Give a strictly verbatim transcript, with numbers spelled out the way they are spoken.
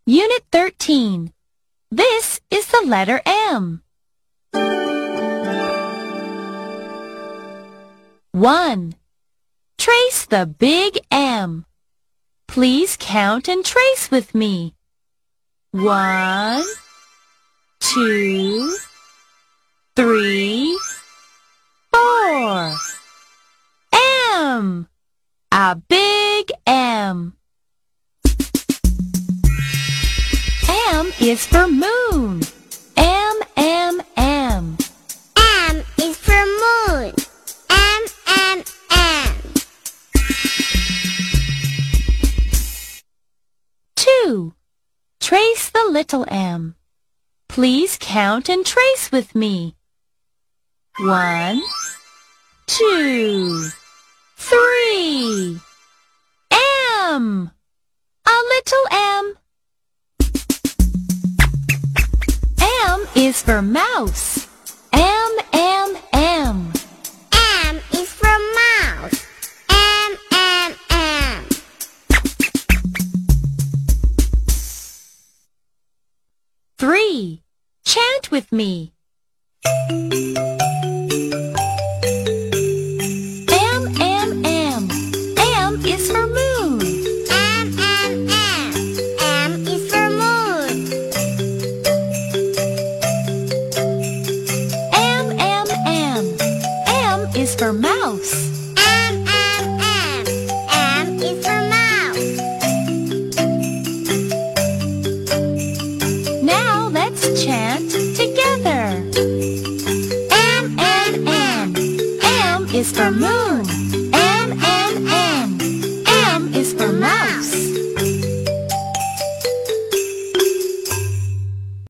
Unit thirteen. This is the letter M. one. Trace the big M. Please count and trace with me. One, two, three, four. M. A big M. M is for moon. M, M, M. M is for moon. M, M, M. two. Trace the little m. Please count and trace with me. One, two, three. M. A little m. M is for mouse. M, M, M. M is for mouse. M, M, M. three. Chant with me.